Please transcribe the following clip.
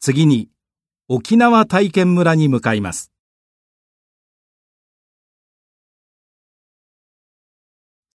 次に沖縄体験村に向かいます。